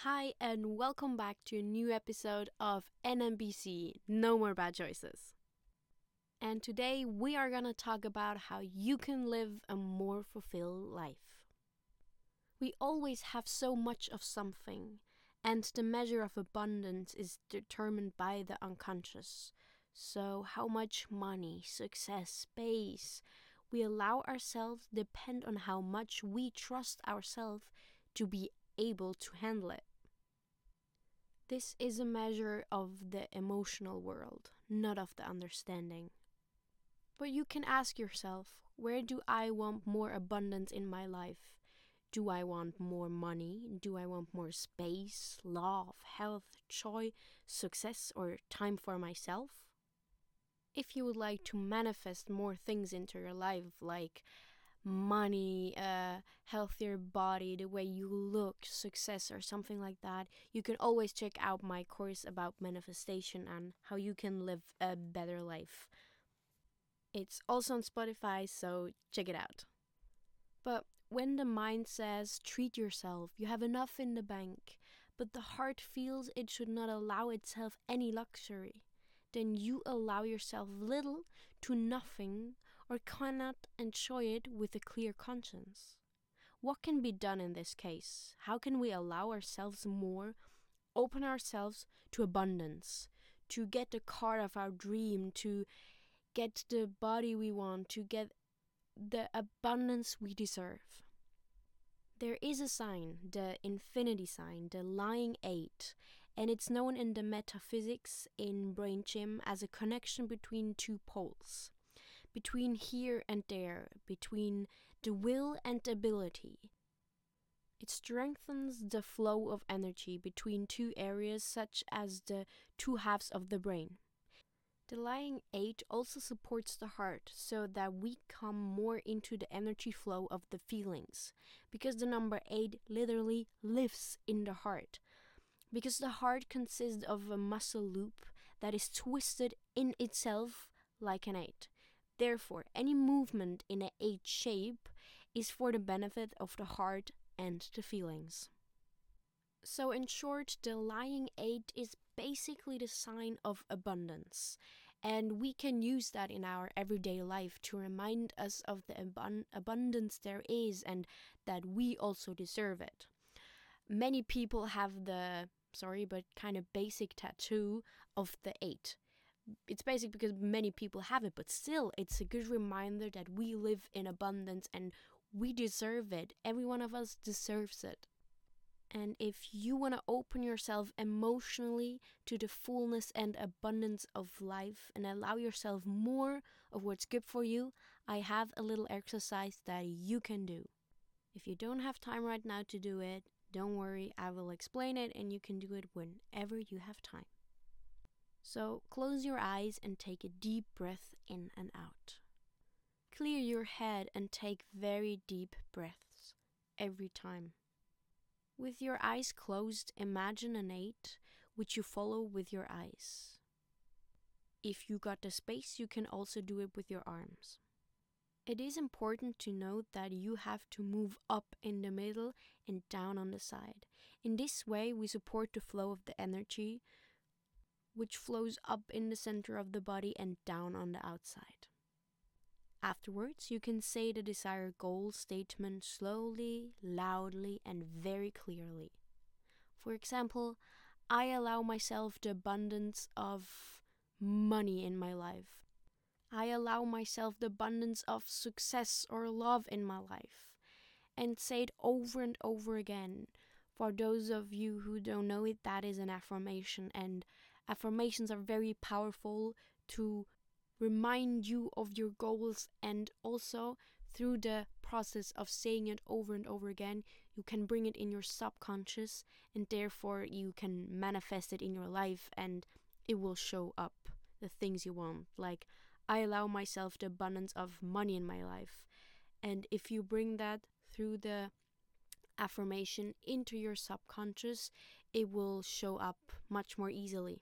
Hi, and welcome back to a new episode of NMBC No More Bad Choices. And today we are going to talk about how you can live a more fulfilled life. We always have so much of something, and the measure of abundance is determined by the unconscious. So, how much money, success, space we allow ourselves depend on how much we trust ourselves to be able to handle it. This is a measure of the emotional world, not of the understanding. But you can ask yourself, where do I want more abundance in my life? Do I want more money? Do I want more space, love, health, joy, success, or time for myself? If you would like to manifest more things into your life, like money, a healthier body, the way you look, success, or something like that, you can always check out my course about manifestation and how you can live a better life. It's also on Spotify, so check it out. But when the mind says, treat yourself, you have enough in the bank, but the heart feels it should not allow itself any luxury, then you allow yourself little to nothing or cannot enjoy it with a clear conscience. What can be done in this case? How can we allow ourselves more, open ourselves to abundance, to get the car of our dream, to get the body we want, to get the abundance we deserve? There is a sign, the infinity sign, the lying 8, and it's known in the metaphysics in Brain Gym as a connection between two poles, between here and there, between the will and the ability. It strengthens the flow of energy between two areas, such as the two halves of the brain. The lying 8 also supports the heart so that we come more into the energy flow of the feelings, because the number 8 literally lives in the heart. Because the heart consists of a muscle loop that is twisted in itself like an 8. Therefore, any movement in an 8 shape is for the benefit of the heart and the feelings. So in short, the lying 8 is basically the sign of abundance. And we can use that in our everyday life to remind us of the abundance there is and that we also deserve it. Many people have the, kind of basic tattoo of the 8. It's basic because many people have it, but still, it's a good reminder that we live in abundance and we deserve it. Every one of us deserves it. And if you want to open yourself emotionally to the fullness and abundance of life and allow yourself more of what's good for you, I have a little exercise that you can do. If you don't have time right now to do it, don't worry, I will explain it and you can do it whenever you have time. So close your eyes and take a deep breath in and out. Clear your head and take very deep breaths every time. With your eyes closed, imagine an 8, which you follow with your eyes. If you got the space, you can also do it with your arms. It is important to note that you have to move up in the middle and down on the side. In this way, we support the flow of the energy, which flows up in the center of the body and down on the outside. Afterwards, you can say the desired goal statement slowly, loudly, and very clearly. For example, I allow myself the abundance of money in my life. I allow myself the abundance of success or love in my life. And say it over and over again. For those of you who don't know it, that is an affirmation, and affirmations are very powerful to remind you of your goals, and also through the process of saying it over and over again, you can bring it in your subconscious and therefore you can manifest it in your life and it will show up the things you want. Like, I allow myself the abundance of money in my life. And if you bring that through the affirmation into your subconscious, it will show up much more easily.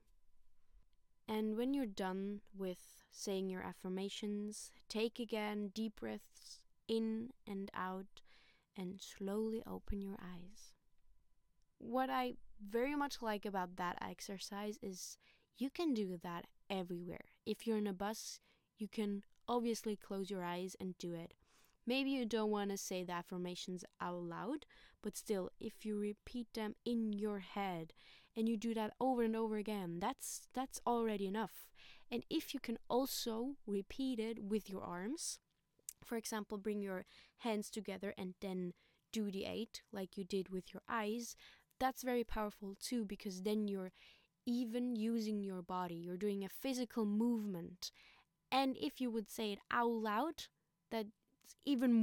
And when you're done with saying your affirmations, take again deep breaths in and out and slowly open your eyes. what I very much like about that exercise is you can do that everywhere. If you're in a bus, you can obviously close your eyes and do it. Maybe you don't want to say the affirmations out loud, but still, if you repeat them in your head and you do that over and over again, that's already enough. And if you can also repeat it with your arms, for example, bring your hands together and then do the 8 like you did with your eyes, that's very powerful too, because then you're even using your body, you're doing a physical movement. And if you would say it out loud, that's even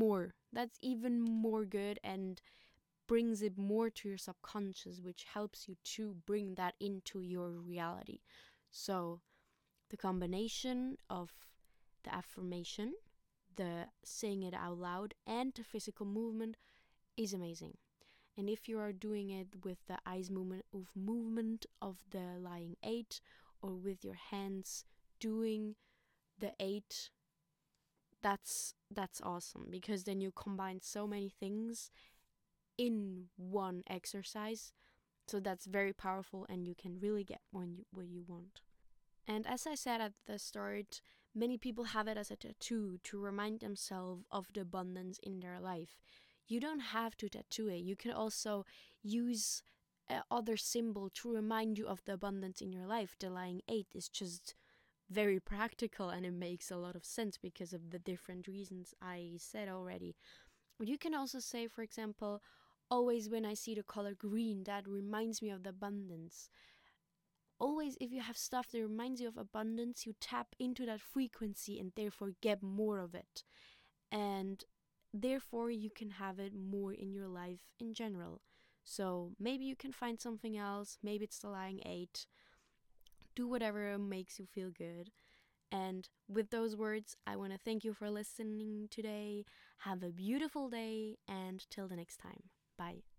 more good and brings it more to your subconscious, which helps you to bring that into your reality. So the combination of the affirmation, the saying it out loud, and the physical movement is amazing. And if you are doing it with the eyes movement of the lying 8, or with your hands doing the 8, that's awesome, because then you combine so many things in one exercise. So that's very powerful, and you can really get what you want. And as I said at the start, many people have it as a tattoo to remind themselves of the abundance in their life. You don't have to tattoo it. You can also use other symbol to remind you of the abundance in your life. The lying 8 is just very practical, and it makes a lot of sense because of the different reasons I said already. You can also say, for example, always when I see the color green, that reminds me of the abundance. Always, if you have stuff that reminds you of abundance, you tap into that frequency and therefore get more of it. And therefore, you can have it more in your life in general. So maybe you can find something else. Maybe it's the lying 8. Do whatever makes you feel good. And with those words, I want to thank you for listening today. Have a beautiful day, and till the next time. Bye.